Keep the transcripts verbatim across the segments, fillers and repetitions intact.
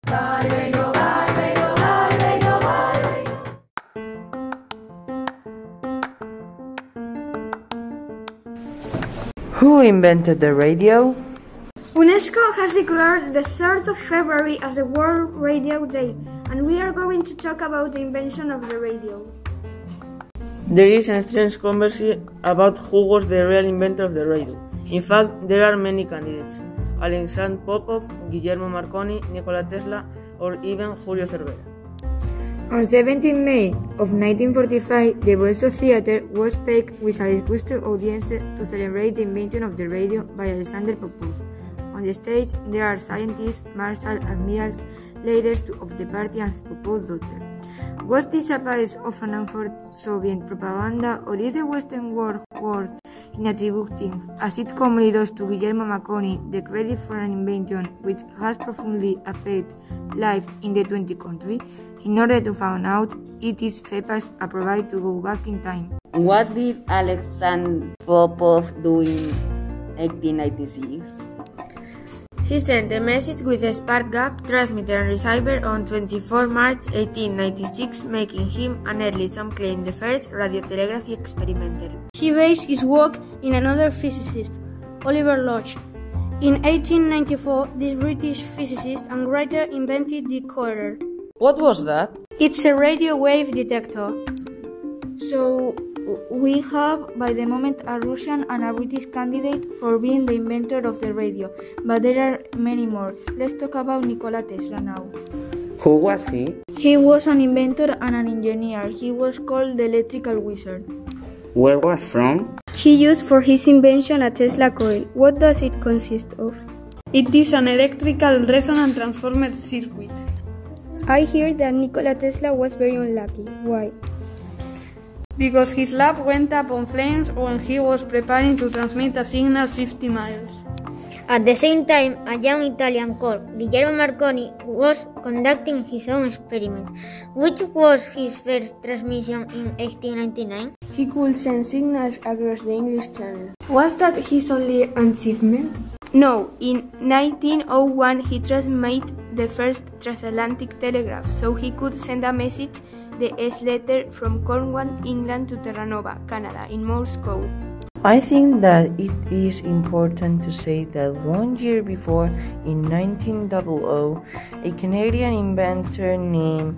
Radio, Radio, Radio, Radio. Who invented the radio? UNESCO has declared the third of February as the World Radio Day, and we are going to talk about the invention of the radio. There is a strange controversy about who was the real inventor of the radio. In fact, there are many candidates: Alexander Popov, Guillermo Marconi, Nikola Tesla, or even Julio Cervera. On seventeenth of May of nineteen forty-five, the Bolshoi Theatre was packed with a disgusted audience to celebrate the invention of the radio by Alexander Popov. On the stage, there are scientists, marshals, admirals, leaders of the party, and Popov's daughter. Was this a piece of an unformed Soviet propaganda, or is the Western world world in attributing, as it commonly does to Guillermo Marconi, the credit for an invention which has profoundly affected life in the twentieth century? In order to find out, it is papers appropriate to go back in time. What did Alexander Popov do in eighteen ninety-six? He sent a message with a spark gap transmitter and receiver on twenty-fourth of March eighteen ninety-six, making him, and early some claim, the first radiotelegraphy experimenter. He based his work in another physicist, Oliver Lodge. In eighteen ninety-four, this British physicist and writer invented the decoder. What was that? It's a radio wave detector. So, we have, by the moment, a Russian and a British candidate for being the inventor of the radio, but there are many more. Let's talk about Nikola Tesla now. Who was he? He was an inventor and an engineer. He was called the electrical wizard. Where was from? He used for his invention a Tesla coil. What does it consist of? It is an electrical resonance transformer circuit. I hear that Nikola Tesla was very unlucky. Why? Because his lab went up on flames when he was preparing to transmit a signal fifty miles. At the same time, a young Italian called Guillermo Marconi was conducting his own experiments. Which was his first transmission in eighteen ninety-nine? He could send signals across the English Channel. Was that his only achievement? No, in nineteen oh one he transmitted the first transatlantic telegraph, so he could send a message, the S letter, from Cornwall, England to Terranova, Canada, in Morse code. I think that it is important to say that one year before, in nineteen hundred, a Canadian inventor named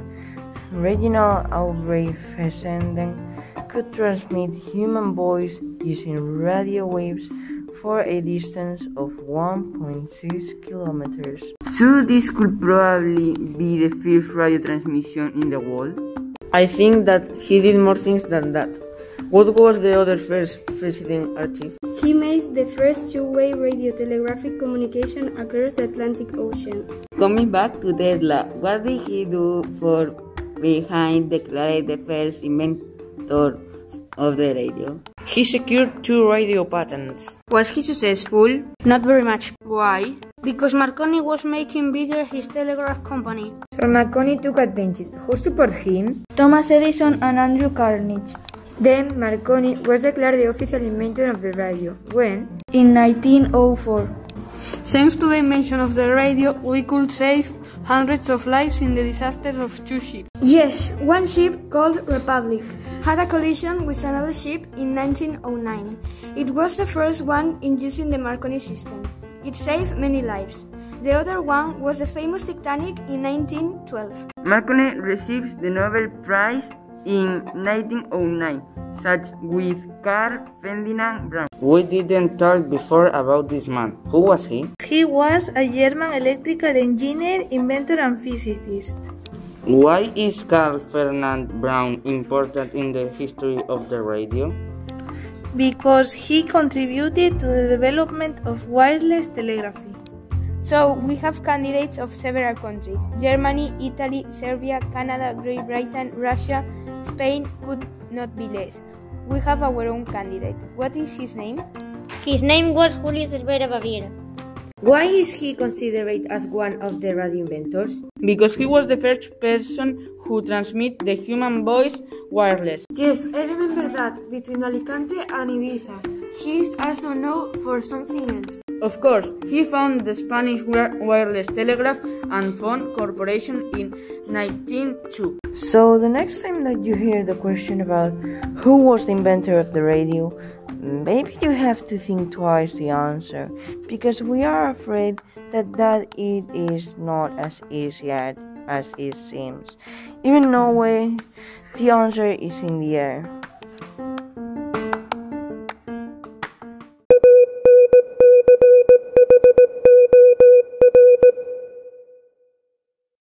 Reginald Albright Fessenden could transmit human voice using radio waves for a distance of one point six kilometers. So this could probably be the first radio transmission in the world? I think that he did more things than that. What was the other first president achieved? He made the first two-way radiotelegraphic communication across the Atlantic Ocean. Coming back to Tesla, what did he do for behind declared the first inventor of the radio? He secured two radio patents. Was he successful? Not very much. Why? Because Marconi was making bigger his telegraph company. So Marconi took advantage. Who supported him? Thomas Edison and Andrew Carnegie. Then Marconi was declared the official inventor of the radio. When? In nineteen oh four. Thanks to the invention of the radio, we could save hundreds of lives in the disaster of two ships. Yes, one ship called Republic had a collision with another ship in nineteen oh nine. It was the first one in using the Marconi system. It saved many lives. The other one was the famous Titanic in nineteen twelve. Marconi receives the Nobel Prize in nineteen oh nine, such with Carl Ferdinand Braun. We didn't talk before about this man. Who was he? He was a German electrical engineer, inventor, and physicist. Why is Carl Ferdinand Braun important in the history of the radio? Because he contributed to the development of wireless telegraphy. So, we have candidates of several countries: Germany, Italy, Serbia, Canada, Great Britain, Russia, Spain could not be less. We have our own candidate. What is his name? His name was Julio Cervera Baviera. Why is he considered as one of the radio inventors? Because he was the first person who transmit the human voice wireless. Yes, I remember that, between Alicante and Ibiza. He is also known for something else. Of course, he found the Spanish wireless telegraph and Phone Corporation in nineteen oh two. So the next time that you hear the question about who was the inventor of the radio, maybe you have to think twice the answer, because we are afraid that that it is not as easy as it seems. Even though the answer is in the air.